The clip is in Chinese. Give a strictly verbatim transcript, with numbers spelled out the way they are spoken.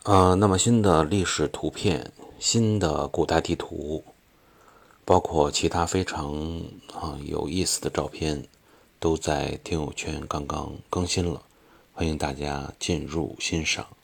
呃，那么新的历史图片、新的古代地图，包括其他非常啊有意思的照片，都在听友圈刚刚更新了，欢迎大家进入欣赏。